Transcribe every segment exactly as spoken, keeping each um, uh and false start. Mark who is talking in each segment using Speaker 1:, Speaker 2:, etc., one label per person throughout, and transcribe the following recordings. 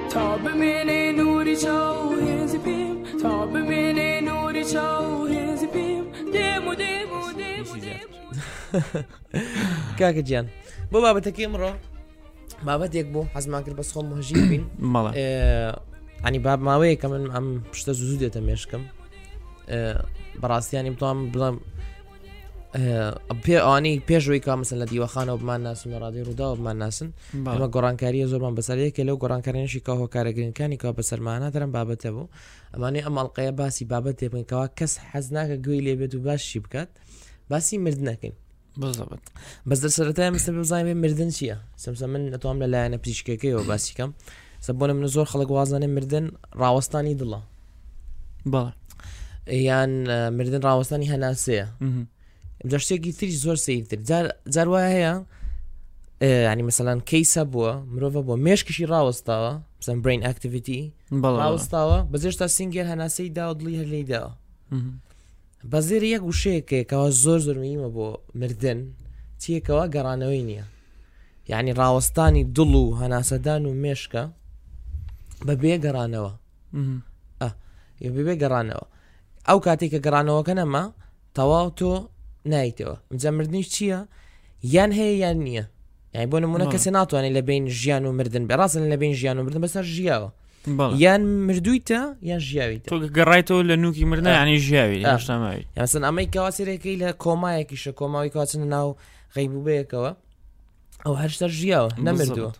Speaker 1: تا ببینی نوری چاو هزی پیم تا ببینی نوری چاو هزی پیم دیمو دیمو دیمو دیمو
Speaker 2: کاکە گیان بۆ بابەتەکەی ئەمڕۆ بابەتێک بوو حەزمان کرد بەس خۆم مهژیر بین
Speaker 3: مەڵێ
Speaker 2: ینی باب ماوەیە کە من ئەم پشتە زوو دێتە مێشکم بەڕاستیانی بتوانم بڵێم پێ ئەوانەی پێشەوەی کا مەسەن لە دیوەخانەوە بمان ناسن و ڕادیۆ ڕووداوە بمان ناسن ئەمە گۆڕانکاریە زۆرمان بەسەرەیەکە لەو گۆڕانکاریانشی کا هۆکارەگرنگەکانی کا بەسەرمانە دەرم بابەتە بوو ئەمانەی ئەم ئەڵقەیە باسی بابەت تێبنکەوە کەس حەز ناکە گوێی لێ بێت و باشی بکات باسی مردنەکەین بەس دەسەرەتای مەسە بزانین مردن چییە سەمسە من ئەتوانم لە لایەنە پزیشکەکەیەوە باسی کەم سەبوونە من زۆر خەڵک وازانێ مردن ڕاوەستانی دڵە
Speaker 3: بەڵێ
Speaker 2: یان مردن ڕاوەستانی هەناسەیە شتێکی تریش زۆر سیرتر جار وایە هەیە ینی مەسەلەن کەیسە بووە مرۆڤە بۆ مێشکشی ڕاوەستاوە مثلا برین ئاکتیڤیتی ڕاوەستاوە بەزێشتا سینگێر هەناسەی دا و دڵی هەر لێی داوە بەزێر یەک وشەیەکەوە زۆر زۆر مهمە بۆ مردن چیەکەوە گەڕانەوەی نییە یعنی ڕاوەستانی دڵ و هەناسەدان و مێشکە بەبێ گەڕانەوە بێ گەڕانەوە ئەو کاتێک کە گەڕانەوەکە نەما تەواو تۆ نایتەوە جا مردنیش چییە یان هەیە یان نییە یعنی بۆ نمونە کەسێ ناتوانێت لە بین ژیان و مردن بێ ڕاستن لە بین ژیان و مردن بەسەر ژیاوە یان مردوویتە یان ژیاویتە
Speaker 3: تۆ گەڕایتەوە لە نوکی مردن ینی ژیاوی
Speaker 2: هێشتاماوی یاسن ئەمەی کەواسێرەکەی لە کۆمایەکیشە کۆماوی کاتچنە ناو غەیبوبەیەکەوە ئەو هەرشتە ژیاوە نەمردووە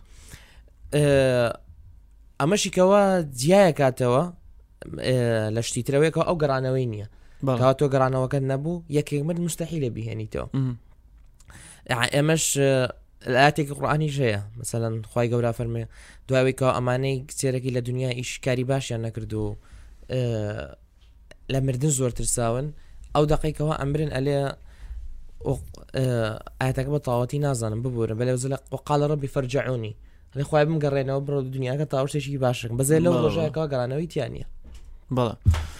Speaker 2: ئەمەشیکەوە جیایە کاتەوە لە شتیترەوەیەکەوە ئەو گەڕانەوەی نییە کات تۆ گەڕانەوەکە نەبوو یەکێک مرد مستحیلە بیهێنیتەوە ئێمەش ئاتێکی قورئانیش هەیە مەسەلەن خوای گەورە فەرمێ دواوێکەوە ئەمانەی کچێرەی لە دنیا ئیشکاری باشیان نەکرد و لە مردن زۆر ترساون ئەو دقیقەوە ئەمرن ئەلێ ئاەتەکە بە تاواتی نازانم ببورن بەلێ زە وقال ربي فرجعوني لە خوای بمگەڕێنەوە بڕۆ دنیاکە تا شتێکی باشەکەم بەزێ لەو ڕۆژەکەەوە گەڕانەوەی تیانە
Speaker 3: بەڵێ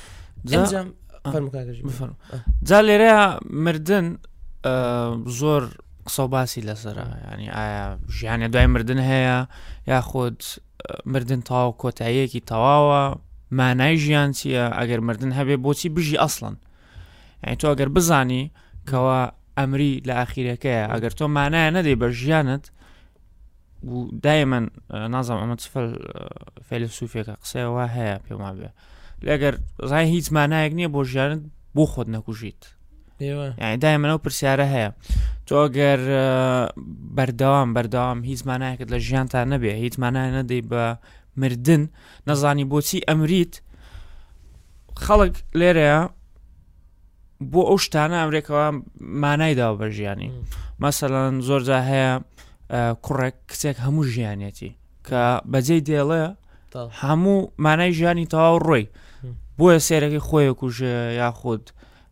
Speaker 2: جا
Speaker 3: لێرەیە مردن زۆر قسە باسی لەسرە ینی ئایا ژیانە دوای مردن هەیە یاخود مردن تاوا کۆتاییەکی تەواوە مانای ژیان چییە ئەگەر مردن هەبێ بۆچی بژی ئەسڵن یعنی تۆ ئەگەر بزانی کەوا ئەمری لە ئاخیرەکەیە ئەگەر تۆ مانایە نەدەی بە ژیانت و دایمەن نازم ئەمە چفل فەیلسوفێکە قسەوە هەیە پێما بێ لەگەر ڕای هیچ مانایەک نییە بۆ ژیانت بۆ خۆت نەکوژیت یعنی دایمەنەوە پرسیارە هەیە تۆ ئەگەر بەردەوام بەردەوام هیچ مانایەکت لە ژیانتان نەبێ هیچ مانای نەدەی بە مردن نەزانی بۆچی ئەمریت خەڵک لێرەیە بۆ ئەو شتانە ئەمریکەوە مانایداوە بە ژیانی مەسەڵەن زۆرجا هەیە کوڕێک کچێک هەموو ژیانێتی کە بەجێی دێڵێ هەموو مانای ژیانی تەواو ڕۆی بۆیە سێرەکەی خۆی کوژێ یاخود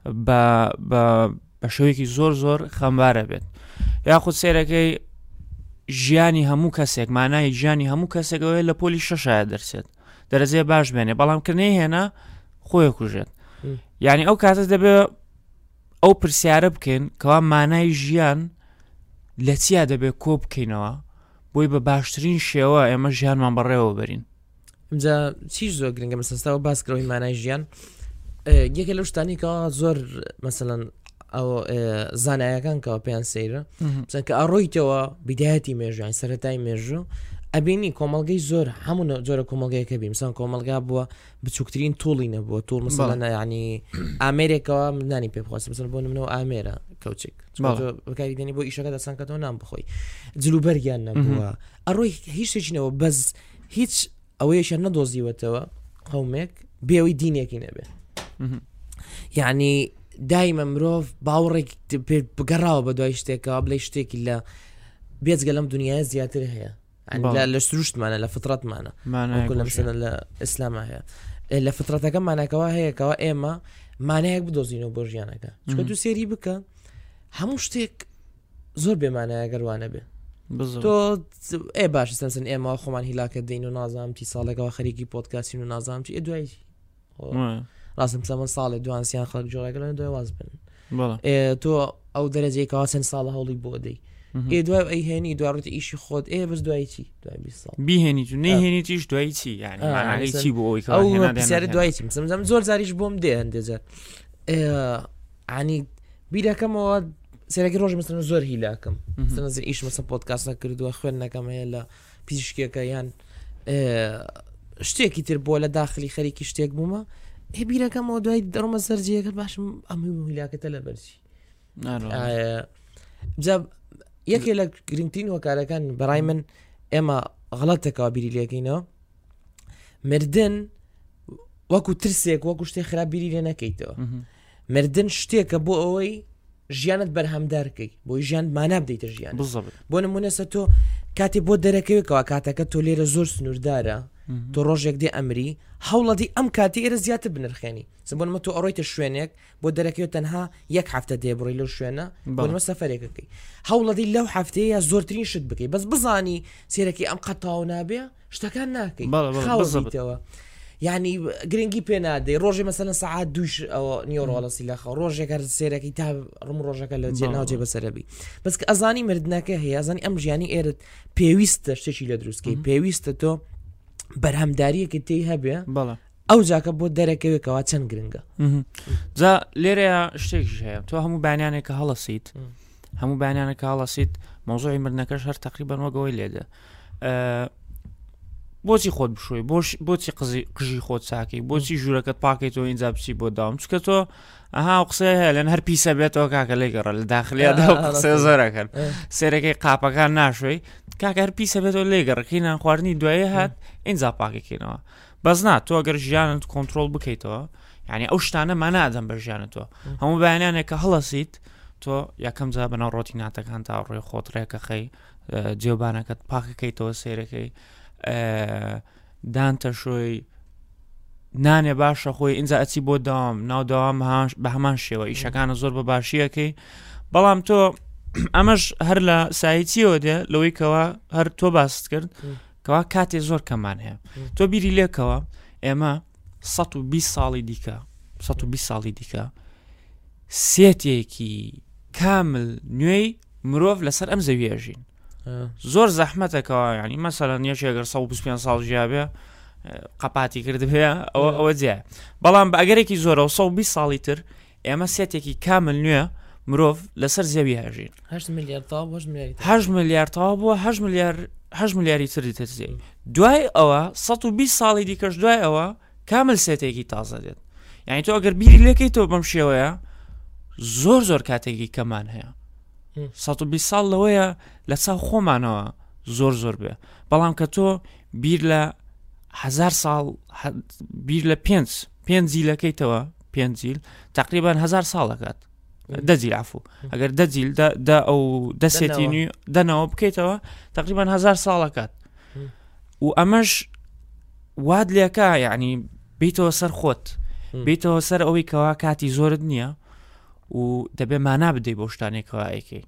Speaker 3: بە شەوەیەکی زۆر زۆر خەمبارە بێت یاخود سێرەکەی ژیانی هەموو کەسێک مانای ژیانی هەموو کەسێکەوەی لە پۆلی شەشایە دەرسێت دەرەجێ باش بێنێ بەڵام کردنی هێنا خۆی کوژێت یعنی ئەو کاتە دەبێت ئەو پرسیارە بکەین کەوا مانای ژیان لە چیا دەبێت کۆ بکەینەوە بۆی بە باشترین شێوە ئێمە ژیانمان بەڕێوە بەرین
Speaker 2: ئەمجا چیش زۆر گرنگە مەسەستاوە باسکەوەی مانای ژیان یەکێک لەو شتانی کەەوە زۆر مەسەلەن ئەو زانایەکان کەەوە پێیان سەیرە چەند کە ئەڕۆیتەوە بیدایەتی مێژوان سەرەتای مێژوو ئەبینی کۆمەڵگەی زۆر هەموو جۆرە کۆمەلگەیەکە بی مثلا کۆمەلگا بووە بچووکترین توڵی نەبووە توڵ مثلا ینی ئامێرێکەوە مندانی پێ بخواست مثلا بۆ نمونەوە ئامێرە کەوچێک بەکاری دێنی بۆ ئیشەکە دەسان کەەوە نام بخۆی جلوبەرگیان نەبووە ئەڕۆی هیچ شتێکینەوە بەس هیچ ئەوەیەشیان نەدۆزیوەتەوە قەومێک بێەوەی دینێکی نەبێ یعنی دایمە مرۆڤ باوەڕێک بگەڕاوە بە دوای شتێکەوە بڵێ شتێکی لە بێجگە لەم دنیاە زیاتر هەیە لە سروشتمانە لە فترەتمانە لەمسەنە لە ئیسلامە هەیە لە فترەتەکە مانەکەەوە هەیەکەوە ئێمە مانایەک بدۆزینەوە بۆ ژیانەکە چکە تو سێری بکە هەموو شتێک زۆر بێمانایە گەروانە بێ تۆ ئێ باش سەسن ئێمە خۆمان هیلاکە دەین و نازام تی ساڵێکەوە خەریکی پۆدکاسین و نازام چی دوای ڕاستم سەمە ساڵێ دوانسییان خەڵک جۆڕێکەکە دوای واز بن تۆ ئەو دەرەجەیەکەوە چەند ساڵە هەوڵی بۆ دەی ئێ دوای ئەی هێنی دوڕێتی ئیشی خۆت ئێ بەس دوای چی دوای بیست ساڵ
Speaker 3: بیهێنی تو نەیهێنیتیش دوای چی یعنی مانای چی بۆ ئەوی
Speaker 2: ئەو پرسیارە دوای چی مثلا زۆر زاریش بۆم دێ هەندێجار عنی بیرەکەمەوە سێرەکی ڕۆژ مثلا زۆر هیلاکەم مثلا ئیش مەسە پۆدکاستە کردووە خوێندنەکەم هەیە لە پیشکێکە یان شتێکی تر بۆ لە داخلی خەریکی شتێک بوومە هێ بیرەکەمەوە دوای دەڕۆمە سەرجەکە باشم ئەمووی هیلاکەتە لە بەرچی یەکێ لە گرنگترین هۆکارەکان بەڕای من ئێمە غەڵەتێکەوە بیری لێکەینەوە مردن وەکو ترسێک وەکو شتێک خراپ بیری لێ نەکەیتەوە مردن شتێکە بۆ ئەوەی ژیانت بەرهەمدارکەی بۆی ژیان مانا بدەیتە ژیان بۆ نمونەسە تۆ کاتێ بۆ دەرەکەوێکەوە کاتەکە تۆ لێرە زۆر سنووردارە تۆ ڕۆژێک دێ ئەمری هەوڵەتی ئەم کاتی ئێرە زیاتر بنرخێنی سبۆنمە تۆ ئەڕۆیتە شوێنێک بۆ دەرەکەوێت تەنها یەک هەفتە دێ بڕی لەو شوێنە بۆنمە سەفەرێکەکەی هەوڵەتی لەو هەفتەیە زۆرترین شت بکەی بەس بزانی سێرەکی ئەم قەتاو نابێ شتەکان ناکەی خاوەزیتەوە یعنی گرنگی پێ نادەی ڕۆژێ مەسەلەن سەعات دووش ئەوە نیۆڕۆڵەسی لەخەو ڕۆژێک هەر سێرەکی تا ڕم ڕۆژەکە لە جێ ناوجێ بەسەرەبی بەس کە ئەزانی مردنەکە هەیە ئەزانی ئەم ژیانی ئێرت پێویستە شتێکی لە دروستکەی پێویستە تۆ بەرهەمداریەکە تێی هەبێ ئەو جاکە بۆ دەرەکەوێکەوە چەند گرنگە
Speaker 3: جا لێرەیە شتێکش هەیە تۆ هەموو بانیانێکە هەڵەسیت هەموو بانیانێکە هەڵەسیت مۆزۆی مردنەکەش هەر تقریبان وەگەوەی لێدە بۆچی خۆت بشوی بۆچی قژی خۆت چاکەی بۆچی ژوورەکەت پاکەیتەوە اینجا بچی بۆ داوام چکە تۆ ئەها قسە هەیە لەن هەر پیسە بێتەوە کاکە لێگەڕە لە داخلیادا قسە زۆرەکەن سێرەکەی قاپەکان ناشوی کاکە هەر پیسە بێتەوە لێگەڕەکەی نان خواردنی دوایە هات اینجا پاکەکەینەوە بەس نا تۆ ئەگەر ژیانت کۆنتترۆل بکەیتەوە یعنی ئەو شتانە مانادەم بە ژیانەوە هەموو بەیانێکە هەڵەسیت تۆ یەکەم جا بەناو ڕۆتی ناتەکان تا ڕێ خۆت ڕێکەخەی جێوبانەکەت پاکەکەیتەوە سێرەکەی دانتە شوی نانێ باشە خۆی اینجا ئەچی بۆ داوام ناو داوام بە هەمان شێوە ئیشەکانە زۆر بە باشیەکەی بەڵام تۆ ئەمەش هەر لە سایتیەوە دێ لەوەی کەوا هەر تۆ باست کرد کەوا کاتێ زۆر کەمان هەیە تۆ بیری لێکەوە ئێمە سەد و بیست ساڵی دیکە سەد و بیست ساڵی دیکە سێتێکی کامل نوێی مرۆڤ لەسەر ئەم زەویەژین زۆر زەحمەتەکەەوە ینی مەسەلەن یەکێگەر سەد و بیست و پێنج ساڵ ژیابێ قەپاتی کردبێ ئەوە ئەوە جێ بەڵام بە ئەگەرێکی زۆرە و سەد و بیست ساڵی تر ئێمە سێتێکی کامل نوێ مرۆڤ لەسەر زەوی هەژین
Speaker 2: هەشت میلیارد
Speaker 3: میلیاردتەوە بووە هەشت میلیاری تری ترزی دوای ئەوە سەد و بیست ساڵی دیکەش دوای ئەوە کامل سێتێکی تازە دێت یعنی تۆ ئەگەر بیری لێکەیتەوە بەم شێوەیە زۆر زۆر کاتێکی کەمان هەیە سەد و بیست ساڵ لەوەیە لە چاو خۆمانەوە زۆر زۆر بێ بەڵام کە تۆ بیر لە هەزار ساڵ بیر لە پێنج پێنج جیلەکەیتەوە پێنج جیل تقریبان هەزار ساڵەکات دەجیل عفو ئەگەر دەجیل دە ئەو دەسێتی نوێ دەنەوە بکەیتەوە تقریبان هەزار ساڵەکات و ئەمەش واد لێکە یعنی بیتەوە سەر خۆت بیتەوە سەر ئەوەی کەوا کاتی زۆرت نییە و دەبێ مانا بدەی بۆ شتانێکەوە ئەیکەی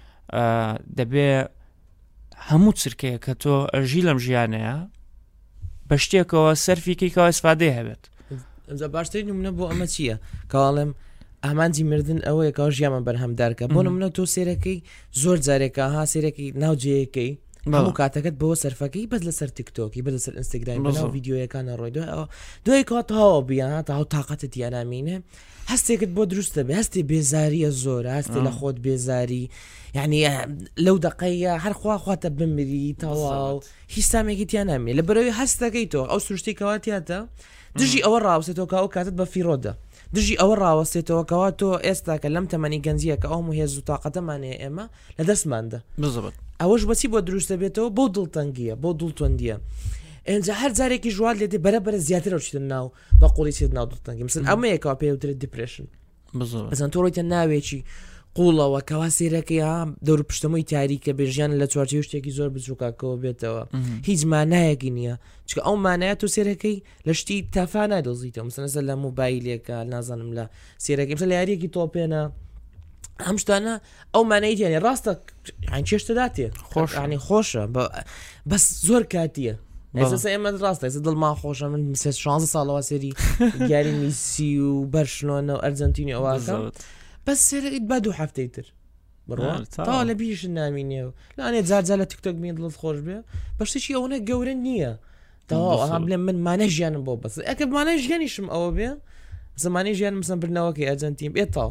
Speaker 3: دەبێ هەموو چرکەیە کە تۆ ئەژی لەم ژیانەیە بە شتێکەوە سەرفیکەیەوە ئەسفادەی هەبێت
Speaker 2: ئەمجا باشترین نمونە بۆ ئەمە چییە کاڵێم ئامانجی مردن ئەوەیە کاو ژیانمە بەرهەمدارکە بۆ نمونە تۆ سێرەکەی زۆر جارێکە ها سێرەکی ناوجەیەکەی هەموو کاتەکەت بەوە سەرفەکەی بەس لەسەر تیکتۆکی بە لەسەر ئینستاگرام بەناو ڤیدیۆیەکانە ڕۆی دوای دوای کات هاوە بیان تا هاو تااقەتت یانامینە هەستێکت بۆ دروستە بێ هەستی بێزاریە زۆر هەستی لە خۆت بێزاری یعنی لەو دقەیە هەرخوا خواتە بمری تەواو هیچ سامێکی تیان نامێ لە بەرەوەی هەستەکەی تۆ ئەو سروشتی کەواتیاتە دژی ئەوە ڕاوسێتەوە کە ئەو کاتت بە فیرۆدە دژی ئەوە ڕاوەستێتەوە کەوا تۆ ئێستا کە لەم تەمەنی گەنجیە کە ئەو هێز و تااقەتەمانەیە ئێمە لە دەستماندا ئەوەش بەچی بۆ دروستە بێتەوە بۆ دڵتەنگیە بۆ دڵتوندیە ئەجا هەر جارێکی ژوات لێدێ بەرەبەرە زیاتر ئەوچیتە ناو بە قوڵی چێت ناو دڵتەنگی مثل ئەمەیەکەوە پێوترێت دیپرێشن بەزان تۆ ڕۆیتە ناوێکی قوڵەوە کەوا سێرەکەی ها دەور پشتەمەوەی تاریکە بێژیان لە چوارچێ شتێکی زۆر بچووکەکەەوە بێتەوە هیچ مانایەکی نییە چکە ئەو مانایە تۆ سێرەکەی لە شتی تافا نادۆزیتەوە مثلەن لە موبایلێکە نازانم لە سێرەکەی مثل لە یاریەکی تۆپێنە ئەم شتانە ئەو مانەیەیانی ڕاستە چێشتەداتێ خۆش ینی خۆشە بەس زۆر کاتیە ئێمە ڕاستە دڵما خۆشە من شانزە ساڵەوە سێری یاری میسی و بەرشلۆنە و ئەرجەنتینی ئەوواکە بەس سێرەیت بە دوو هەفتەی تر بڕوا تا لە بیش نامینێ لاانێ جارجار لە تیکتۆک مێن دڵت خۆش بێ بەشتێکی ئەوەنە گەورە نییە تا بڵێم من مانە ژیانم بۆ بەس ئەکە مانە ژیانیشم ئەوە بێ زمانی ژیان مسم برنەوەکەی ئەرجەنتین بێتەوە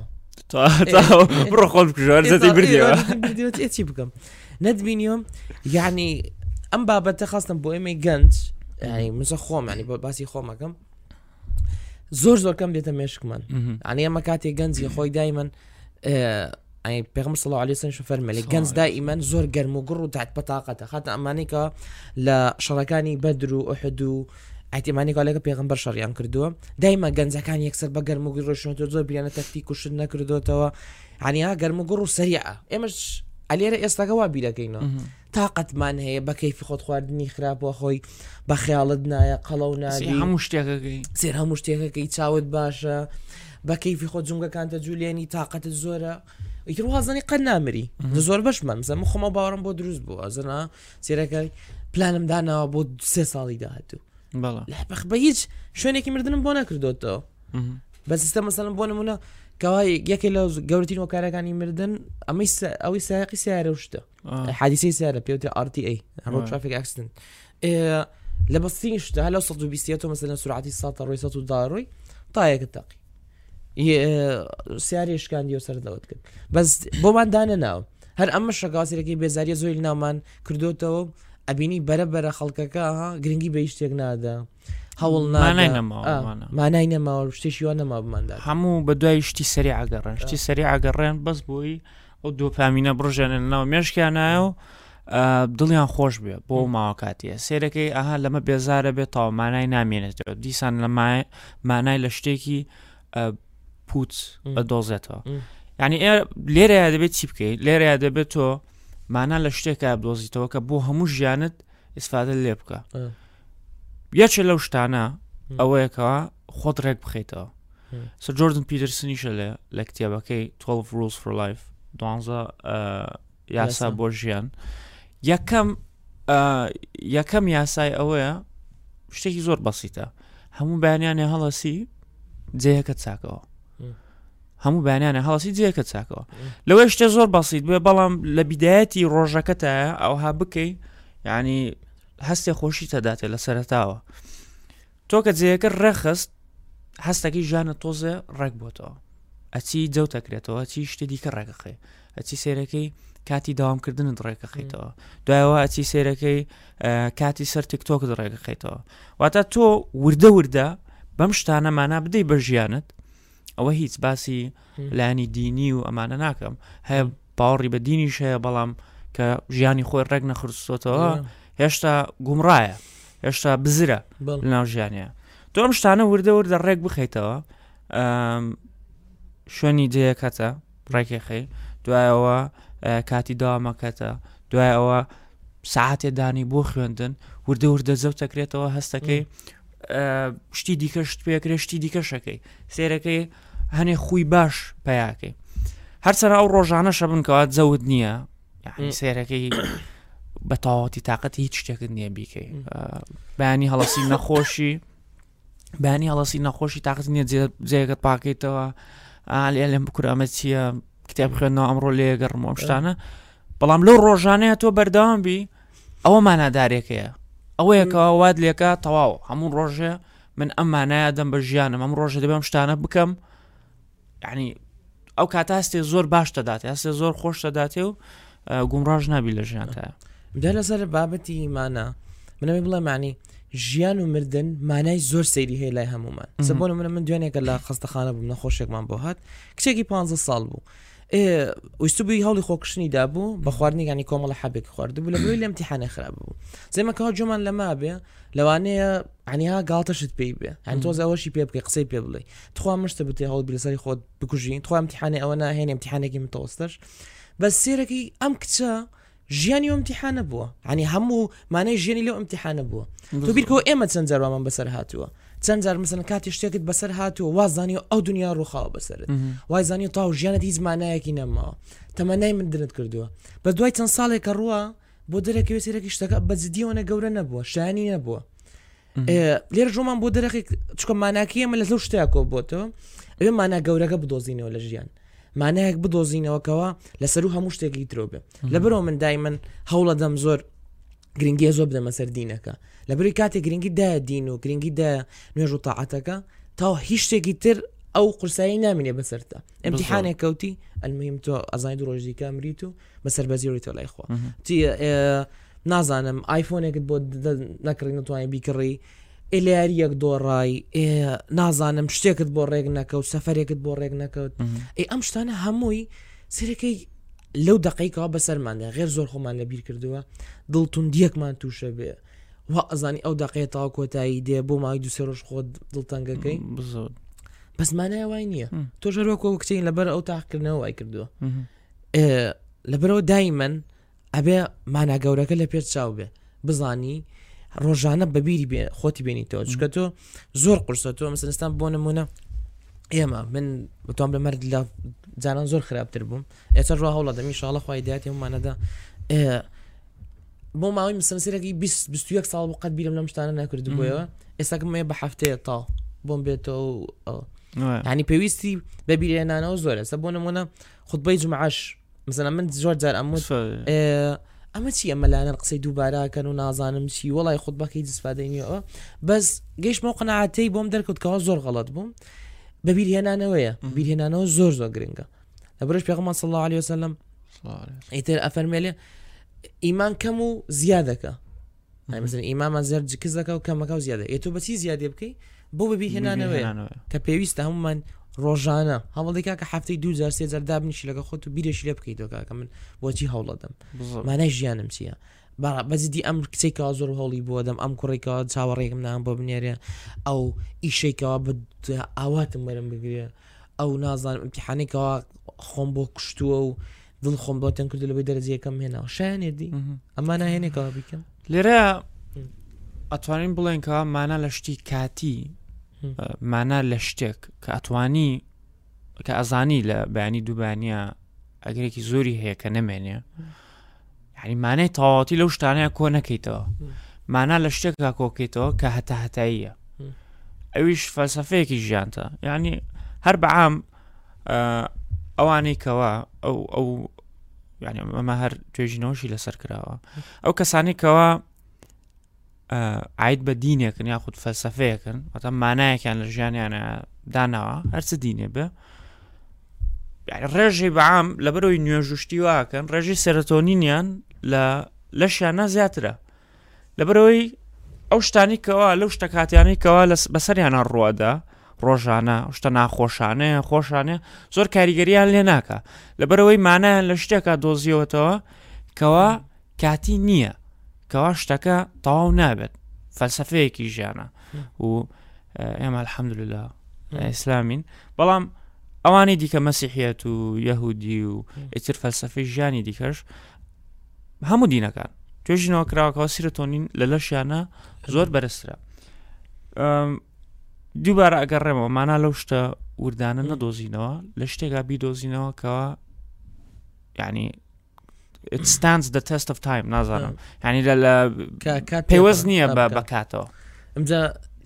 Speaker 3: بڕۆ خۆم بردیەوە
Speaker 2: چی بکەم نەتبینیۆم یعنی ئەم بابەتە خواستم بۆ ئێمەی گەنج ینی مسە خۆم ینی بۆ باسی خۆمەکەم زۆر زۆر کەم دێتە مێشکمان ینی ئەمە کاتێک گەنجی خۆی دایمەن پێغەمبەر صلی الله علیه و سلم فەرمێ گەنج دائیمەن زۆر گەرم و گڕ و تحت بەتاقەتە خاتە ئەمانەی کە لە شەڕەکانی بەدر و ئوحد و ئەحتیمانی کالێکە پێغەمبەر شەڕیان کردووە دایما گەنجەکان یەکسەر بە گەرم و ڕۆشنەوە زۆر بیانە تەکتیک و شت نەکردوێتەوە عنی ها گەرم و گڕ و سەریعە ئێمەش ئەلێرە ئێستاکە وا بیرەکەینەوە تااقەتمان هەیە بە کەیفی خۆت خواردنی خراپەوە خۆی بە خەیاڵت نایە قەڵەو نادی
Speaker 3: هەموو شتێکەکەی
Speaker 2: سێر هەموو شتێکەکەی چاوت باشە بە کەیفی خۆت جونگەکانتە جوولێنی تااقەتت زۆرە ئیتر وازانی قەت نامری زۆر بەشمان مزەمە خۆمە باوەڕم بۆ دروست بوو ئەزنا سێرەکەی پلانم داناوە بۆ سێ ساڵی داهاتوو بەخ بە هیچ شوێنێکی مردنم بۆ نەکردوتەوە بە سیستە مەسەڵم بۆ نمونە کەوای یەکێ لە گەورەترین هۆکارەکانی مردن ئەمەی ئەوەی سایقی سیارە شتە حادیسەی سیارە پێوتە آر تی ئێ ڕۆد ترافیک ئەکسیدنت لە بەستنی شتە هەلە سەد و بیست مەسەلەن سورعەتی سەد ڕۆی سەد و دە ڕۆی تا یەکە تاقی سیاری شکاندی و سەردەوت کرد بەس بۆمان دانە ناو هەر ئەمە شەکاسیرەکەی بێزاریە زۆی ناومان کردوتەوە ئەبینی بەرەبەرە خەڵکەکە گرنگی بە هیچ شتێک نادا هەوڵ مانای نەماوە شتێکی وان نەما بماندا
Speaker 3: هەموو بە دوای شتی سەری ئاگەڕێن شتی سەری ئاگەڕێن بەس بۆی ئەو دۆپامینە بڕژێنن ناو مێشکیان نایە و دڵیان خۆش بێ بۆ ماوە کاتیە سێرەکەی ئاها لەمە بێزارە بێت تاوە مانای نامێنێتەوە دیسان لە مانای لە شتێکی پوت ئەدۆزێتەوە یعنی لێرەیە دەبێت چی بکەیت لێرەیە دەبێت تۆ مانا لە شتێکە بدۆزیتەوە کە بۆ هەموو ژیانت ئیسفادە لێ بکە یەکێ لەو شتانە ئەوەیەکەوە خۆت ڕێک بخەیتەوە سەر جۆردن پیترسنیشە لێ لە کتێبەکەی twelve rules for life دوانزە یاسا بۆ ژیان یەکەم یەکەم یاسای ئەوەیە شتێکی زۆر بەسیتە هەموو بەیانیانێ هەڵەسی جێیەکە چاکەوە هەموو بەیانیانە هەڵەسی جێیەکە چاکەوە لەوەی شتێ زۆر بەسیت بێ بەڵام لە بیدایەتی ڕۆژەکەتە ئەوها بکەی یعنی هەستێ خۆشی تەداتێ لە سەرەتاوە تۆ کە جێیەکە ڕێخست هەستەکەی ژانە تۆزێ ڕێک بۆتەوە ئەچی جەوتەکرێتەوە ئەچی شتێ دیکە ڕێگەخێ ئەچی سێرەکەی کاتی داوامکردنت ڕێگەخیتەوە دوایەوە ئەچی سێرەکەی کاتی سەر تیکتۆکت ڕێگەخیتەوە واتە تۆ وردە وردە بەم شتانە مانا بدەی بە ژیانت ئەوە هیچ باسی لانی دینی و ئەمانە ناکەم هەیە باوەڕی بە دینیش هەیە بەڵام کە ژیانی خۆی ڕێک نەخستۆتەوە هێشتا گومڕایە هێشتا بزرە لەناو ژیانە تۆ ئەم شتانە وردە وردە ڕێک بخەیتەوە شوێنی جەیەکەتە ڕێکێخی دوایەوە کاتی داوامەکەتە دوایەوە ساعتێ دانی بۆ خوێندن وردە وردە زەوتەکرێتەوە هەستەکەی شتی دیکە شت پێکرێ شتی دیکەشەکەی سێرەکەی هەنێ خوی باش پەیاکەی هەرچەنە ئەو ڕۆژانەشە بنکەوە جەوت نییە یعنی سێرەکەی بە تاواتی تااقەتی هیچ شتێکت نییە بیکەی بەیانی هەڵەسی نەخۆشی بەیانی هەڵەسی نەخۆشی تااقەت نییە جێگەت پاکەیتەوە لێ لێم بکوور ئەمە چییە کتێب بخوێنەوە ئەمڕۆ لێگەڕمەوە ئەم شتانە بەڵام لەو ڕۆژانەیە تۆ بەردەوام بی ئەوە مانادارێکەیە ئەوەیەکەوە واد لێکە تەواو هەموو ڕۆژێ من ئەم مانایە دەم بە ژیانم ئەم ڕۆژە دەبێم شتانە بکەم یعنی ئەو کاتە هەستێ زۆر باش دەداتێ هەستێ زۆر خۆش دەداتێ و گومڕاژ نابی لە ژیانتایە
Speaker 2: دا لەسەر بابەتی مانە منەوەی بڵێ معنی ژیان و مردن مانای زۆر سەیری هەیە لای هەمومان سەبۆ منە من دوێنێکە لە خەستەخانە بووم نەخۆشێکمان بۆ هات کچێکی پانزە ساڵ بوو ویستبووی هەڵی خۆکشتنی دابوو بە خواردنیگانی کۆمەڵە حەبێک خواردبوو لە بۆی لە ئیمتیحانێ خراپ بوو زێمەکەەوە جۆمان لەما بێ لەوانەیە عنیها گاڵتەشت پێی بێ هەن تۆز ئەوەشی پێ بکەی قسەی پێ بڵێ تخوا مشتە بتێ هەڵ بلەسەری خۆت بکوژین تخوا ئیمتیحانێ ئەوە ناهێن ئیمتیحانێکی متەوەستەش بەس سێرەکەی ئەم کچە ژیانی و ئیمتیحانە بووە عنی هەموو مانای ژیانی لەو ئیمتیحانە بووە تۆ بیرکەوە ئێمە چەند جاروامان بەسەر هاتووە چەند جار مثلا کاتی شتێکت بەسەر هاتووە وازانی و ئەو دنیا ڕووخاوە بەسەرت وای زانی و تاو ژیانت هیچ مانایەکی نەماوە تەمەنای من درت کردووە بە دوای چەند ساڵێکە ڕووە بۆ دەرەکەوێ سێرەکی شتەکە بە جدیەوەنە گەورە نەبووە شایانی نەبووە لێرە ژۆمان بۆ دەرەقی چکە ماناکی ئەمە لە لەو شتێکۆ بۆتەوە ئەوێ مانا گەورەکە بدۆزینەوە لە ژیان مانایەک بدۆزینەوەکەوە لەسەر و هەموو شتێکی ترۆبێ لەبەرەوە من دایمەن هەوڵە دەم زۆر گرنگی زۆر بدەمە سەر دینەکە لەبەری کاتێک گرنگی دایە دین و گرنگی دایە نوێژ و تاعەتەکە تا هیچ شتێکی تر ئەو قورسایی نامینێ بەسەرتە ئەمتیحانێک کەوتی ئەلمیم تۆ ئەزانی دو ڕۆژی کە مریت و بەسەر بەزیۆری تۆ لای خوا نازانم ئایفۆنێکت بۆ نەکڕی نتوانانی بیکڕی ئێلیاریەک دۆڕای نازانم شتێکت بۆ ڕێک نەکەوت سەفەرێکت بۆ ڕێک نەکەوت ئەی ئەم شتانە هەمووی سەرەکەی لەو دقیقەوە بەسەرماندا غێر زۆر خۆمان لەبیر کردووە دڵتون دیەکمان تووشە بێ وا ئەزانی ئەو دقیقە تاوا کۆتایی دێ بۆ ماوەی دوو سێ ڕۆژ خۆت دڵتەنگەکەی بەس مانای وای نییە تۆ ژەرۆکۆ کچین لەبەر ئەو تاقکردنەوە وای کردووە لەبەرەوە دایمەن ئەبێ مانا گەورەکە لە پێت چاو بێ بزانی ڕۆژانە بەبیری بێ خۆتی بینیتەوە چکە تۆ زۆر قورسە تۆ مەسەلستان بۆ نمونە ئێمە من بەتوان بە مەرد لە جانان زۆر خراپتر بووم ئێستا ڕوا هەوڵە دەمی ئینشاڵڵا خوای دایەتی هەمومانەدا بۆ ماوەی مسەنسیرەکی بیست و یەک ساڵ بۆ قەت بیرم لەم شتانە نەکردبوویەوە ئێستاکەم مێ بە هەفتەیە تا بۆم بێتەوە ینی پێویستی بەبیرهێنانەوە زۆرە سە بۆ نمونە خوتبەی جومعەش مثلا من زۆر جار ئەموت ئەمە چی ئەمەلایەن قسەی دووباراکەن و نازانم چی وەڵی خوتبەکەی جسپادەینیەوە بەس گەیشتمەوە قەناعەتەی بۆم دەرکەوتکەوە زۆر غەڵەت بووم بەبیرهێنانەوەیە بیرهێنانەوە زۆر زۆر گرنگە لەبەرش پێغەمبەر صلی الله علیه وسلم ئیتر ئەفەرمێلێ ئیمان کەم و زیادەکە مثلا ئیمامان زێر جکز دەکە و کەمەکە و زیادە ئێ تۆ بەچی زیادێ بکەی بۆ بەبیرهێنانەوەیە کە پێویستە هەمومان ڕۆژانە هەوڵێکا کە هەفتەی دوو جار سێ جار دابنیشی لەگە خۆت و بیرێکی لێ بکەیتەوە کاکە من بۆچی هەوڵە دەم مانای ژیانم چییە بەزیدی ئەم کچێکەوە زۆر هەوڵی بۆ دەم ئەم کوڕێکەوە چاوەڕێکم نام بۆ بنێرێ ئەو ئیشێکەوە بە ئاواتم وەرم بگرێ ئەو نازانم ئیمتیحانێکەوە خۆم بۆ کوشتووە و دڵ خۆم بۆ تەن کردو لەبەی دەرەجەیەکەم هێناوە شایانێدی ئەمە ناهێنێکەوە بیکەم
Speaker 3: لێرە ئەتوانین بڵێن کە مانە لە شتی کاتی مانە لە شتێک کە ئەتوانی کە ئەزانی لە بەیانی دووبانیە ئەگەرێکی زۆری هەیە کە نەمێنێ یعنی مانای تەواوەتی لەو شتانەیە کۆ نەکەیتەوە مانا لە شتێکا کۆکەیتەوە کە هەتا هەتاییە ئەویش فەلسەفەیەکی ژیانتە یعنی هەر بەعام ئەوانەی کەوا ئەو ئەو یعنی ئەمە هەر توێژینەوەشی لەسەر کراوە ئەو کەسانی کەوا عید بە دینێکن یاخود فەلسەفەیەکن واتە مانایەکیان لە ژیانیانە داناوە هەرچ دینێ بێ ڕێژەی بەعام لەبەرەوەی نوێژوشتی واکەن ڕێژی سەرۆتۆنینیان لە لەشیانە زیاترە لەبەرەوەی ئەو شتانی کەوا لەو شتە کاتیانەی کەوا بەسەریانە ڕوەدا ڕۆژانە شتە ناخۆشانەیە خۆشانێ زۆر کاریگەریان لێ ناکە لەبەرەوەی مانایان لە شتێکە دۆزیەوەتەوە کەوا کاتی نییە کەوا شتەکە تەواو نابێت فەلسەفەیەکی ژیانە و ئێمە الحەمدولله ئیسلامین بەڵام ئەوانی دیکە مەسیحیەت و یەهودی و ئیتر فەلسەفەی ژیانی دیکەش هەموو دینەکان توێژینەوە کراوەکەەوە سیرۆتۆنین لە لەشیانە زۆر بەرزترە دووبارە ئەگەڕێمەوە مانا لەو شتە وردانە نەدۆزینەوە لە شتێکا بیدۆزینەوە کەوا یعنی it stands the test of time نازانم یعنی لە پێوەز نییە بەکاتەوە
Speaker 2: ئەمجا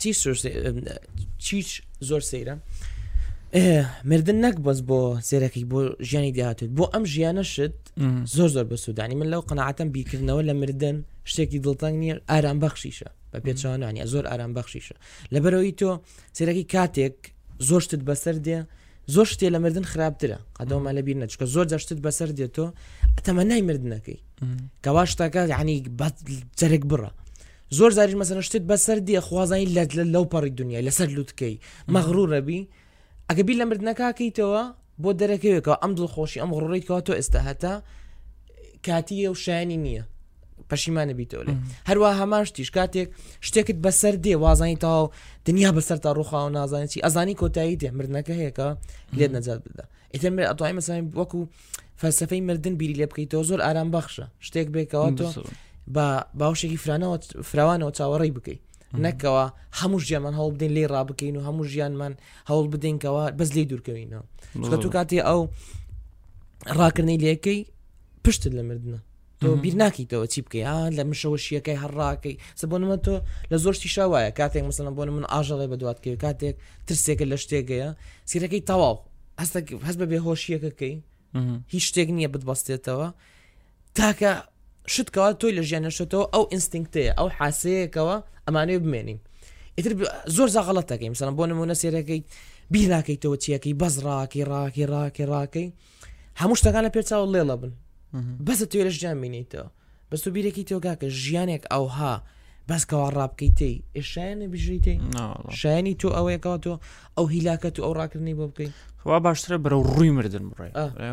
Speaker 2: چیچ زۆر سەیرە مردن نەک بەس بۆ سێرەکەی بۆ ژیانی داهاتێت بۆ ئەم ژیانە شت زۆر زۆر بەسوودانی من لەو قەناعەتەم بیرکردنەوە لە مردن شتێکی دڵتەنگ نییە ئارام بەخشیشە بە پێچوانانی زۆر ئارام بەخشیشە لەبەرەوەی تۆ سێرەکی کاتێک زۆر شتت بەسەر دێ زۆر شتێ لە مردن خراپترە قەدەومە لە بیر نەچکە زۆر جا شتت بەسەر دێتەوە تەمەنای مردنەکەی کەوا شتەکە یعنی جەرێک بڕە زۆر زاریش مەسەلەن شتت بەسەر دێ خوازانی لەو پەڕی دنیای لەسەر لوتکەی مەغروورەبی ئەگە بیر لە مردنەکەکەیتەوە بۆ دەرەکەوێکەوە ئەم دڵخۆشی ئەم غڕڕیتەوە تۆ ئێستا هەتا کاتیە و شایانی نییە پەشیمانە بیتەوە لێ هەروە هەماشتیش کاتێک شتێکت بەسەر دێ وازانی تاو دنیا بەسەر تا ڕووخاوە نازانێت چی ئەزانی کۆتایی دێ مردنەکە هەیەکە لێت نەجات بدە ئیتر ئەتوانی مەسەڵەن وەکو فەلسەفەی مردن بیری لێ بکەیتەوە زۆر ئارام بەخشە شتێک بێکەوە تۆ بە باوشێکی فرانەوە فراوانەوە چاوەڕێی بکەیت نەکەوە هەموو ژیانمان هەوڵ بدەین لێ ڕابکەین و هەموو ژیانمان هەوڵ بدەینکەوە بەس لێ دوورکەوینەوە چکە تو کاتێ ئەو ڕاکردنەی لێەکەی پشتت لە مردنە تۆ بیر ناکەیتەوە چی بکەی لە مشەوەشیەکەی هەڕاکەی سە بۆ نمە تۆ لە زۆر شتی شاوایە کاتێک مەسەڵەن بۆ من ئاژەڵێ بەدوات کەوێ کاتێک ترسێکە لە شتێکەیە سیرەکەی تەواو هەستێک هەست بە بێهۆشیەکەکەی هیچ شتێک نییە بتبەستێتەوە تاکە شتکەوە تۆی لە ژیانەشتەوە ئەو ئینستینکتەیە ئەو حاسەیەکەوە ئەمانەیە بمێنین ئیتر زۆر زا غەڵەتەکەی مثلا بۆ نمونە سێرەکەی بیرناکەیتەوە چیەکەی بەس ڕاکەی ڕاکەی ڕاکەی ڕاکەی هەموو شتەکان لە پێچاو لێڵە بن بەسە توێ لە ژیان بینیتەوە بەس تو بیرێکی تۆگاکە ژیانێک ئەوها بەسکەوە ڕابکەیتەی ئێشایانە بژیتەی شایانی تۆ ئەوەیەکەوە تۆ ئەو هیلاکە تو ئەو ڕاکردنی بۆ بکەیت
Speaker 3: وا باشترە بەرەو ڕووی مردن بڕێ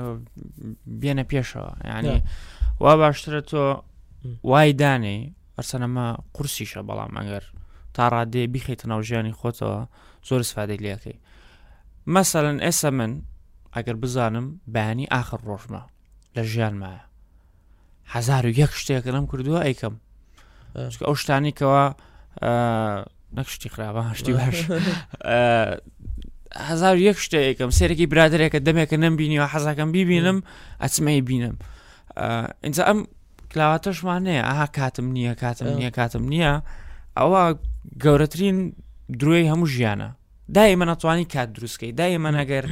Speaker 3: بێنە پێشەوە ینی وا باشترە تۆ وای دانێ ئەرسەنەمە قورسیشە بەڵام ئەگەر تا ڕادێ بیخیتە ناو ژیانی خۆتەوە زۆر سفادەی لێەکەی مەسەڵەن ئێستا من ئەگەر بزانم بەیانی ئاخر ڕۆژمە لە ژیان مایە هەزار و یەک شتێکە لەم کردووە ئەیکەم ئەو شتانی کەەوە نەکشتی خراپە هەشتی باش هەزار و یەک شتێکم سێرەی برادێکە دەمێکە نەمبینیەوە حەزاکەم بیبینم ئەچمەی بینم ئینجا ئەم کلاواتەشمانەیە ئاها کاتم نییە کاتم نییە کاتم نییە ئەوە گەورەترین درۆی هەموو ژیانە دای من ناتوانانی کات دروستکەی دای من ئەگەر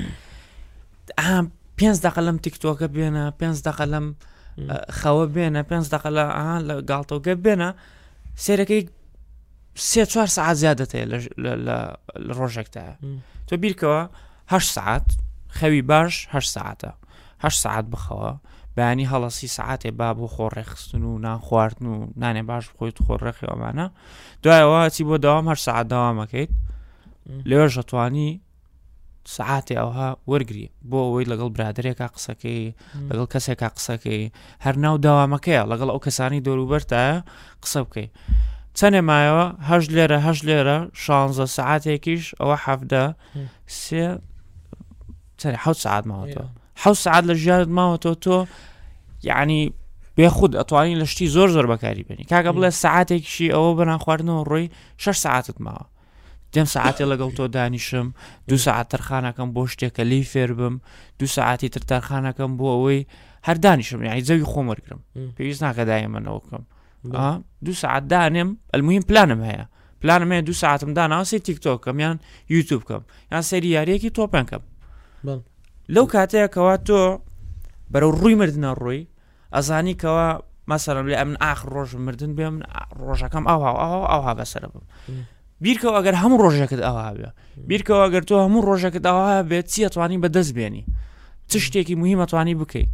Speaker 3: پێنج دقە لەم تیکتۆکە بێنە پێنج دقە لەم خەوە بێنە پێنج دقە لە لە گاڵتەوەگە بێنە سێرەکەی سێ چوار سعات زیادەتەیە لە ڕۆژێکتایە تۆ بیرکەوە هەشت سعات خەوی باش هەشت سعاتە هەشت سعات بخەوە بەیانی هەڵەسی سعاتێ با بۆ خۆڕێخستن و نان خواردن و نانێ باش بخۆیت خۆڕێخی ئەوانە دوایەوە چی بۆ داوام هەشت سعات داوامەکەیت لێوەش دەتوانی سعاتێ ئەوها وەرگری بۆ ئەوەی لەگەڵ برادێکا قسەکەی لەگەڵ کەسێکا قسەکەی هەر ناو داوامەکەیە لەگەڵ ئەو کەسانی دەوروبەرتایە قسە بکەی چەندێ مایەوە هەشت لێرە هەشت لێرە شانزە سعاتێکیش ئەوە حەفدە سێ چەندێ حەوت سعات ماوەتەوە حەوت سعات لە ژیانت ماوەتەوە تۆ یعنی بێخود ئەتوانی لە شتی زۆر زۆر بەکاری بێنی کاکە بڵێ سعاتێکیشی ئەوە بەنان خواردنەوە ڕۆی شەش سعاتت ماوە دێم سعاتێ لەگەڵ تۆ دانیشم دو سعات تەرخانەکەم بۆ شتێکە لی فێر بم دو سعاتی تر تەرخانەکەم بۆ ئەوەی هەر دانیشم یعنی زەوی خۆم وەرگرم پێویست ناکە دایمەنەوە بکەم دو سعات دانێم المهم پلانم هەیە پلانم هەیە دو سعاتم داناوە سێ تیکتۆکەم یان یوتیوب کەم یان سەری یاریەکی تۆپێن کەم لەو کاتەیەکەوە تۆ بەرەو ڕووی مردنە ڕووی ئەزانی کەەوە مەسەڵەن لێ ئەمن ئاخر ڕۆژ مردن بێم ڕۆژەکەم ئەوها ئەوها ئەوها بەسەر بم بیرکەوە ئەگەر هەموو ڕۆژێکت ئەوها بێ بیرکەوە ئەگەر تۆ هەموو ڕۆژێکت ئەوها بێت چی ئەتوانی بەدەست بێنی چ شتێکی مهم ئەتوانی بکەیت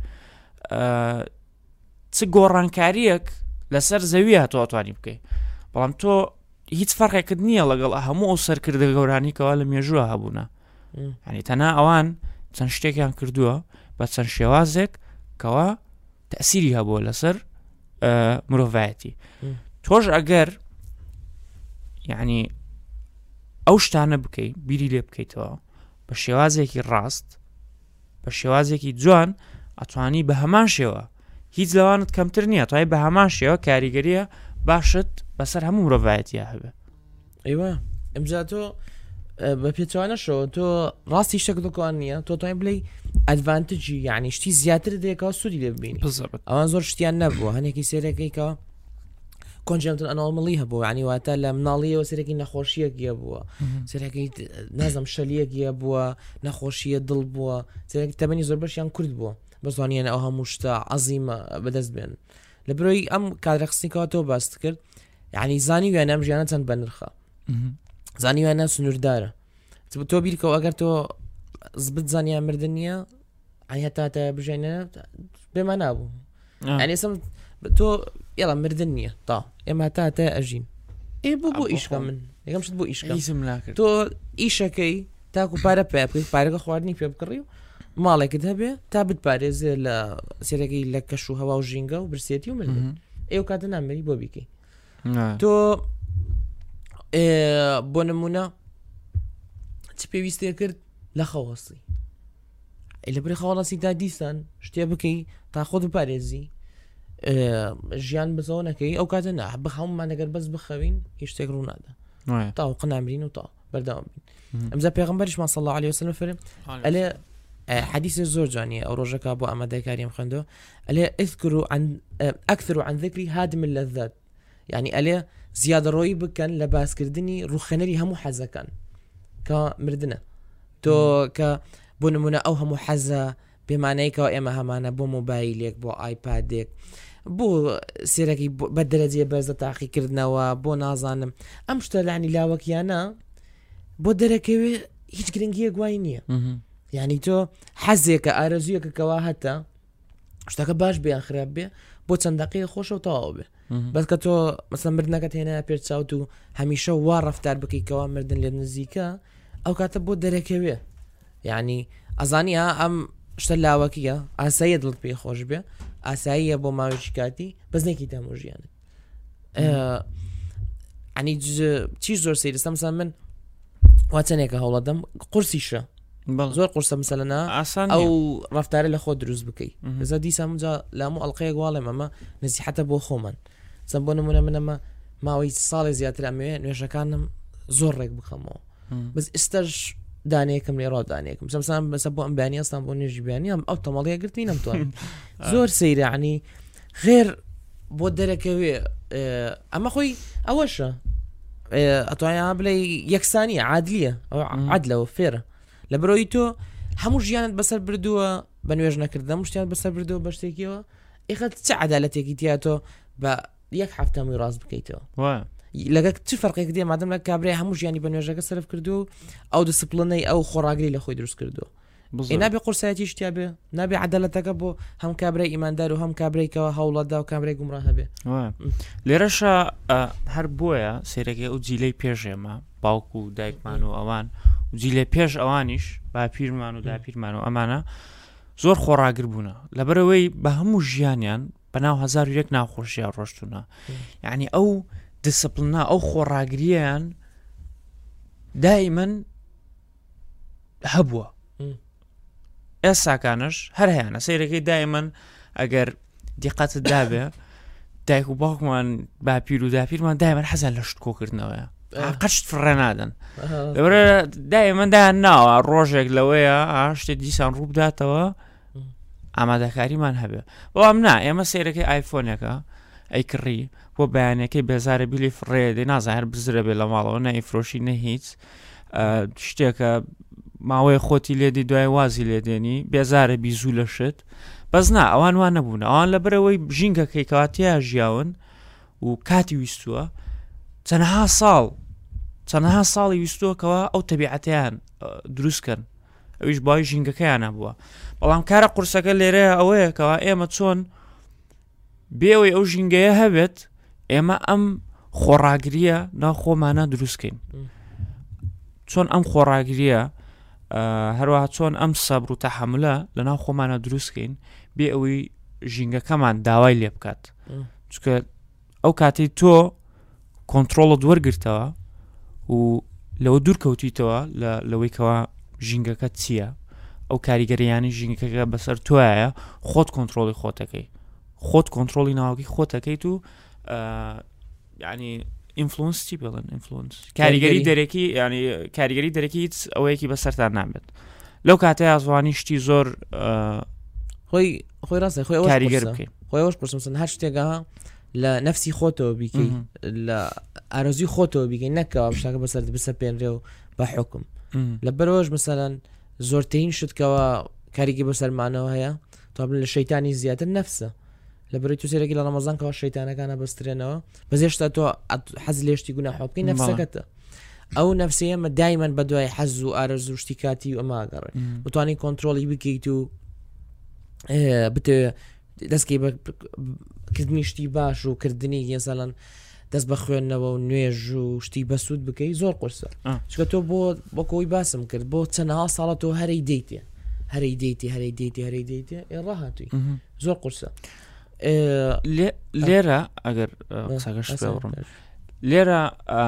Speaker 3: چ گۆڕانکاریەک لەسەر زەویە تۆ ئەتوانی بکەیت بەڵام تۆ هیچ فەرقێکت نییە لەگەڵ هەموو ئەو سەرکردە گەورانیکەوە لە مێژووە هەبوونە ینی تەنها ئەوان چەند شتێکیان کردووە بە چەند شێوازێک کەەوە تەسیری هەبووە لەسەر مرۆڤایەتی تۆش ئەگەر یعنی ئەو شتانە بکەیت بیری لێ بکەیتەوە بە شێوازێکی ڕاست بە شێوازێکی جوان ئەتوانی بە هەمان شێوە هیچ لەوانت کەمتر نییە توای بە هەمان شێوە کاریگەریە باشت بەسەر هەموو مرۆڤایەتیە هەبێ
Speaker 2: ئەیوە ئەمجا تۆ بە پێچوانەشەوە تۆ ڕاستی شتێک دەکوان نییە تۆ توانای بڵێ ئەدڤانتجی یعنی شتی زیاتر دێکەوە سوودی لێ ببینی ئەوان زۆر شتیان نەبووە هەنێکی سێرەکەیکەوە کۆنجێمتن ئەناڵمەڵی هەبوو عنی واتە لە مناڵیەوە سەرێکی نەخۆشیەکیە بووە سەرەکەی نازم شەلیەکیە بووە نەخۆشیە دڵ بووە سەرێکی تەمەنی زۆر بەشیان کورد بووە بەزانیانە ئەو هەموو شتە عەزیمە بەدەست بێن لە بەرەوەی ئەم کادرەخستنیکەوە تۆ باست کرد یعنی زانی وێنە ئەم ژیانە چەند بەنرخە زانی وێنە سنووردارە تۆ بیرکەوە ئەگەر تۆ زبت زانیان مردن نییە ئەنی هەتاتە بژێنە بێمە نابوو ئەنی سم تۆ یاڵا مردن نییە تا ئێمە هەتاتە ئەژین ئێ بۆ بۆ ئیشکە من یەکەم شت بۆ ئیشکەم تۆ ئیشەکەی تاکو پارە پێ بکەیت پارەکە خواردنی پێ بکڕی و ماڵێکت هەبێ تا بتپارێزێ لە سێرەکەی لە کەش و هەوا و ژینگە و برسێتی و مردن ئێوە کاتە نامەری بۆ بیکەی تۆ بۆ نمونە چ پێویستێ کرد لە خەوەستی لە بری خەواڵەسی تا دیسان شتێ بکەی تا خۆت بپارێزی ژیان بزەوە نەکەی ئەو کاتە نا بخەوممان ئەگەر بەس بخەوین هیچ شتێک ڕوو نادا تاوق نامرین و تا بەردەوام بین ئەمجا پێغەمبەریشمان صلی الله عليه وسلم فەرمێ ئەلێ حديث زور جاني أو رجك أبو أحمد كريم خندو ألي اذكروا عن أكثروا عن ذكري هادم اللذات يعني ألي زيادة روي بكن لباس كردني روخنري همو حزكان كمردنا تو ك بۆ نمونە ئەو هەموو حەزە پێمانەیەکەوە ئێمە هەمانە بۆ مۆبایلێک بۆ ئایپادێک بۆ سێرەکی بە دەرەجێ بەرزە تاقیکردنەوە بۆ نازانم ئەم شتە لانی لاوەکیانە بۆ دەرەکەوێ هیچ گرنگیە گوای نییە یعنی تۆ حەزێکە ئارەزویەکەکەوا هەتا شتەکە باش بێ خراپ بێ بۆ چەند دقیقە خۆشە و تەواو بێ بەس کە تۆ مەسەڵەن مردنەکەت هێنایە پێر چاوت و هەمیشە وا ڕەفتار بکەیتەوە مردن لێ نزیکە ئەو کاتە بۆ دەرەکەوێ یعنی ئەزانیە ئەم شتە لاوەکیە ئاساییە دڵت پێی خۆش بێ ئاساییە بۆ ماوەیەکی کاتی بەزنێکی دەمە ژیانت ئەنی چیش زۆر سەیرستە مەسەڵەن من واتەنێکە هەوڵەدەم قورسیشە زۆر قورسە مەسەلەنا ئەو ڕەفتارە لە خۆ دروست بکەیت بەزە دیسان جا لامو ئەڵلقەیە گواڵێم ئەمە نزیحەتە بۆ خۆمان چەند بۆ نمونە منەمە ماوەی ساڵی زیاتر ئەمەوێ نوێژەکانم زۆر ڕێک بخەمەوە بەس ئێستاش دانەیەکم لێ ڕادانێکم سەمسان بەسە بۆ ئەم بەیانی ئەستان بۆ نوێژی بەیانی ئەم ئەو تەمەڵەیە گرتوی نەمتوانم زۆر سەیرانی غێر بۆ دەرەکەوێ ئەمە خۆی ئەوەشە ئەتوانیا بڵێ یەکسانیە عادلیە ئەو عادلەوە فێرە لە بەرۆی تۆ هەموو ژیانت بەسەر بردووە بە نوێژ نەکردن شتیان بەسەر بردووە بە شتێکیەوە ئێخەت چه عەدالەتێکی تیا تۆ بە یەک هەفتەمووی ڕاست بکەیتەوە لەگەک چ فەرقێک دێ مادەم لە کابرای هەموو ژیانی بە نوێژەکە سەرف کردو ئەو دسپلنەی ئەو خۆراگری لە خۆی دروست کردووە نابێ قورسایەتی شتیا بێ نابێ عەدالەتەکە بۆ هەم کابرای ئیماندار و هەم کابرایکەوە هەوڵەتدا و کابرای گومڕا هەبێ
Speaker 3: لێرەشە هەر بۆیە سێرەکەی ئەو جیلەی پێشێمە باوکو و دایکمان و ئەوان جیلێ پێش ئەوانیش باپیرمان و داپیرمان و ئەمانە زۆر خۆراگر بوونە لەبەرەوەی بە هەموو ژیانیان بەناو هەزار و یەک ناوخۆشیە ڕۆشتونە یعنی ئەو دسپلنا ئەو خۆراگریان دائیمەن هەبووە ئێستاکانش هەر هەیەە سەیرەکەی دائیمەن ئەگەر دیقەتت دابێ دایک و باوکمان باپیر و داپیرمان دائیمەن حەزان لە شت کۆکردنەوەیە قەشت فڕێ نادەن لەبەرە دائیمەن ناوە ڕۆژێک لەوەیە شتێک دیسان ڕوو بداتەوە ئامادەکاریمان هەبێ بەڵام نا ئێمە سەیرەکەی ئایفۆنێکە ئەی کڕی بۆ بەیانەکەی بێزارە بیلی فڕێ دێ نازانهر بزرە بێ لە ماڵەوە نە ئیفرۆشی نە هیچ شتێکە ماوەی خۆتی لێدی دوای وازی لێدێنی بێزارە بیزوو لە شت بەس نا ئەوان وان نەبوون ئەوان لەبەرەوەی ژینگەکەی کاتیا ژیاون و کاتی ویستووە چەندەها ساڵ چەندەها ساڵی ویستووەکەوە ئەو تەبیعەتیان دروستکەن ئەویش باوی ژینگەکەیان نەبووە بەڵام کارە قورسەکە لێرەیە ئەوەیەکەوە ئێمە چۆن بێەوەی ئەو ژینگەیە هەبێت ئێمە ئەم خۆراگریە ناو خۆمانە دروستکەین چۆن ئەم خۆراگریە هەروەها چۆن ئەم سەبر و تەحەملە لە ناو خۆمانە دروستکەین بێ ئەوەی ژینگەکەمان داوای لێ بکات چونکە ئەو کاتی تۆ کۆنتترۆڵت وەرگرتەوە و لەوە دوور کەوتیتەوە لەوەیکەوە ژینگەکە چییە ئەو کاریگەریانی ژینگەکە بەسەر تۆیە خۆت کۆنتترۆڵی خۆتەکەی خۆت کۆنتترۆڵی ناوەکی خۆتەکەیت و ینی ئینفلۆنسی بڵن ئینفلۆنس کاریگەری دەرەکی ینی کاریگەری دەرەکی هیچ ئەوەیەکی بەسەرتان نابێت لەو کاتەیە ئازوانی شتی زۆر
Speaker 2: خۆی خۆی ڕاستە خۆی
Speaker 3: کاریگەر بکەین
Speaker 2: خۆی ئەوش پرسم هەر شتێکە لە نەفسی خۆتەوە بیکەی لە ئارۆزی خۆتەوە بیکەین نەکەوە شتەکە بەسەر بسە پێنرێ و بە حکم لە بەرەوەش مەسەلەن زۆرترین شتکەوە کاریگی بەسەرمانەوە هەیە تا لە شەیتانی زیاتر نەفسە لە بەرەی تو سێرەکی لە ڕەمەزانکەوە شەیتانەکانە بەسترێنەوە بەزێشتا تۆ حەز لێشتی گوناح بکەی نەفسەکەتە ئەو نەفسەیە ئەمە دایمەن بە دوای حەز و ئارەزوو شتی کاتی و ئەماگەڕێ بتوانین کۆنتترۆڵی بکەیت و بتێ دەستکەی کردنی شتی باش و کردنی یەسەڵەن دەست بە خوێندنەوە و نوێژ و شتی بەسوود بکەی زۆر قورسە چکە تۆ بۆ بۆ کۆی باسم کرد بۆ چەندەها ساڵە تۆ هەرەی دەیتێ هەرەی دەیتی هەرەی دەیتی هەرەی دەیتێ ڕاهاتووی زۆر قورسە
Speaker 3: لێرە ئەگەر قسەکەش بڕم لێرە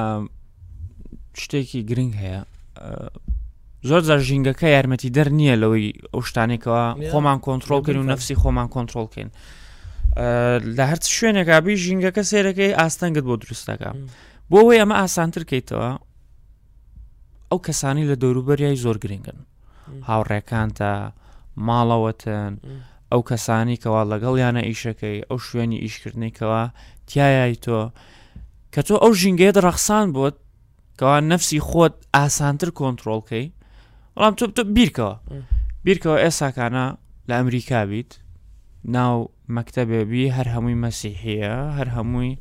Speaker 3: شتێکی گرنگ هەیە زۆر جار ژینگەکە یارمەتی دەر نییە لەوەی ئەو شتانێکەوە خۆمان کۆنتترۆڵکەین و نەفسی خۆمان کۆنتترۆڵکەین لە هەرچ شوێنێکا بی ژینگەکە سێرەکەی ئاستەنگت بۆ دروستەکە بۆ ئەوەی ئەمە ئاسانتر کەیتەوە ئەو کەسانی لە دەوروبەریای زۆر گرنگن هاوڕێکانتە ماڵەوەتن ئەو کەسانی کەوا لەگەڵیانە ئیشەکەی ئەو شوێنی ئیشکردنێکەوە تایای تۆ کە تۆ ئەو ژینگەیە ڕەخسان بۆت کەوا نەفسی خۆت ئاسانتر کۆنتترۆڵکەی بەڵام تۆ تۆ بیرکەوە بیرکەوە ئێساکانە لە ئەمریکا بیت ناو مەکتەبێبی هەر هەمووی مەسیحیە هەر هەمووی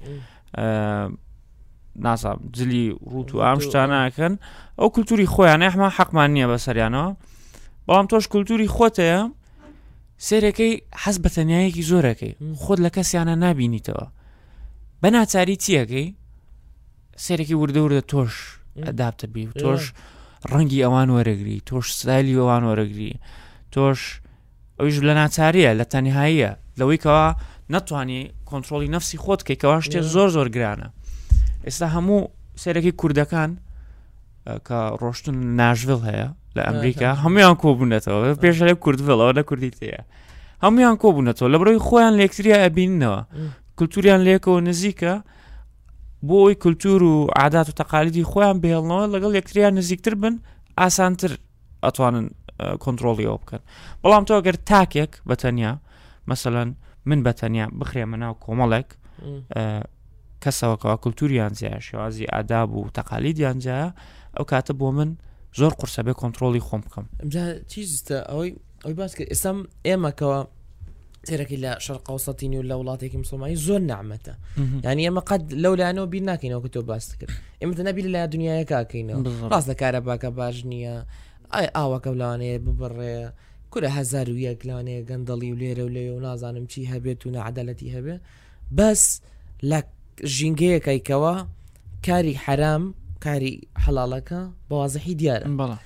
Speaker 3: ناسام جلی ڕوت و ئام شتانەکەن ئەو کولتوری خۆیان ئەحما حەقمان نییە بەسەریانەوە بەڵام تۆش کولتوری خۆتەیە سێرەکەی حەز بە تەنیایەکی زۆرەکەی خۆت لە کەسیانە نابینیتەوە بە ناچاری چیەکەی سێرەکی وردە وردە تۆش ئەدابتە بی و تۆش ڕەنگی ئەوان وەرەگری تۆش ستایلی ئەوان وەرەگری تۆش ئەویش لە ناچاریە لە تەنیهاییە لەوەی کەوا نەتوانی کۆنتترۆلی نەفسی خۆت کەی کەوا شتێ زۆر زۆر گرانە ئێستا هەموو سێرەکی کوردەکان کە ڕۆشتن ناشڤڵ هەیە لە ئەمریکا هەمویان کۆبوونەتەوە پێش لە کوردڤڵەوە لە کوردی تەیە هەمویان کۆبوونەتەوە لە بڕۆی خۆیان لە یەکتریا ئەبیننەوە کولتوریان لێکەوە نزیکە بۆی کولتور و عادات و تەقالیدی خۆیان بهێڵنەوە لەگەڵ یەکتریان نزیکتر بن ئاسانتر ئەتوانن کۆنتترۆلیەوە بکەن بەڵام تۆ ئەگەر تاکێک بەتەنیا مەسەڵەن من بەتەنیا بخرێمە ناو کۆمەڵێک کەسەوەکەوە کولتوریان جیایە شێوازی ئاداب و تەقالیدیان جایە ئەو کاتە بۆ من زۆر قورسە بێ کۆنتترۆلی خۆم بکەم
Speaker 2: چیزتە ئەوەی ئەوی باس کرد ئێستام ئێمەکەوە تێرەکی لە شەرقەوسەتینی و لە وڵاتێکی مسلمانی زۆر نعمەتە یعنی ئەمە قەت لەو لایەنەوە بیر ناکەینەوە کە تۆ باس کرد ئێمەتە نەبی لە دنیاەکەکەینەوە ڕاست لە کارە باکە باش نییە ئای ئاوەکە لەوانەیە ببڕێ کورە هەزار و یەک لەوانەیە گەندەڵی و لێرە و لێ و نازانم چی هەبێت و نەعەدالەتی هەبێ بەس لە ژینگەیەکەیکەوە کاری حرام کاری حەڵاڵەکە بەوازەحی دیارە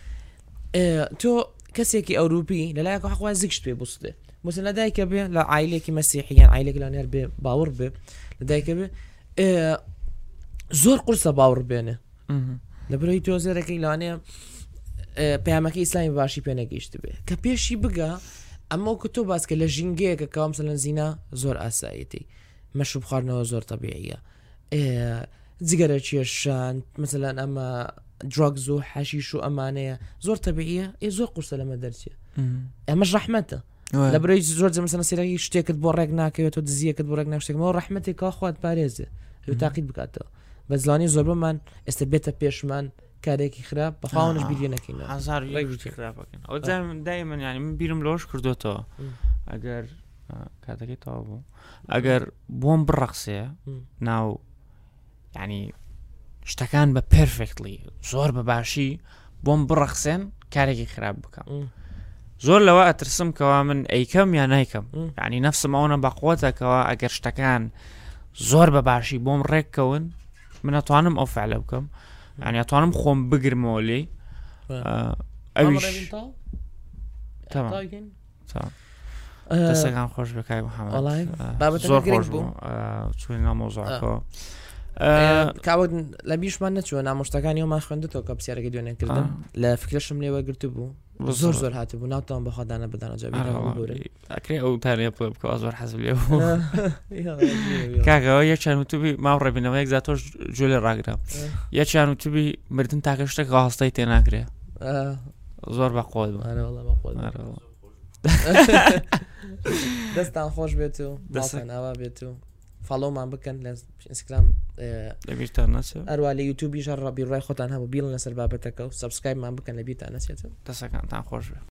Speaker 2: تۆ کەسێکی ئەوروپی لەلایەکە حەقوای زیکشت پێ بووستێ مثل لەدایکە بێ لە عایلێکی مەسیحیان عایلێک لەنێر بێ باوەڕ بێ لەدایکە بێ زۆر قورسە باوەڕ بێنێ لە بەرەوەی تۆ زێرەکەی لەوانەیە پەیامەکەی ئیسلامی باشی پێ نەگەیشت بێ کە پێشی بگە ئەمە کە تۆ باسکە لە ژینگەیەکە کە مثلەن زینا زۆر ئاسایەتی مەشروب خواردنەوە زۆر تەبیعیە جگەرە کێشان مثلەن ئەمە درۆگز و حەشیش و ئەمانەیە زۆر تەبیعیە ئێ زۆر قورسە لەمە دەرچێ ئەمەش ڕەحمەتە لە بەرەوەی زۆر جەمەسەڵەن سێرەکی شتێکت بۆ ڕێک ناکەوێت و دزیەکەت بۆ ڕێک ناشتێکەوە ڕەحمەتێکەوە خوات پارێزێ تاقیت بکاتەوە بە زلانی زۆر بمان ئێستا بێتە پێشمان کارێکی خراپ بەخواونش بیری نەکەینەوە
Speaker 3: دای من ینی من بیرم لۆش کردوتەوە ئەگەر کاتەکەی تەوا بوو ئەگەر بۆم بڕەخسێ ناو ینی شتەکان بە پرفکتلی زۆر بە باشی بۆم بڕەخسێن کارێکی خراپ بکەم زۆر لەوە ئەترسم کەوا من ئەیکەم یا نایکەم ینی نەفسم ئەوە بەقوتەکەەوە ئەگەر شتەکان زۆر بە باشی بۆم ڕێککەون من ئەتوانم ئەو فعلە بکەم ینی ئەتوانم خۆم بگرمەوە لێ ئەویش دەستەکان خۆش بکای محەممەد زۆر خۆش بوو چوین نامۆزۆکەوە
Speaker 2: کاوت لە بیشمان نەچوە نامۆشتەکانیەوەمان خوێندێتەوە کە پرسیارەکەی دوێنێکردن لە فکرشم لێوە گرت بوو زۆر زۆر هاتە بوو ناوتان بەخوادانە بدانە
Speaker 3: ئەکرێ ئەو تانە بڵێ بکەوە زۆر حەزم لێ بوو کاکەوە یەکیان وتوبی ماو ڕێبینەوە یەک زاتۆش جوێ لێ ڕاگرام یەکیان وتوبی مردن تاکە شتێک هەستای تێ ناکرێ زۆر بەقۆت
Speaker 2: دەستان خۆش بێت و دەستناوا بێت و فالۆمان بکەن لە ئینستاگرام
Speaker 3: لەبیرتان نەچێت
Speaker 2: ئەروە لە یوتیوبیش ڕابی ڕای خۆتان هەبوو بیڵ لەسەر بابەتەکە و سەبسکرایبمان بکەن لە بیرتان نەچێت
Speaker 3: دەستەکانتان خۆش بێت.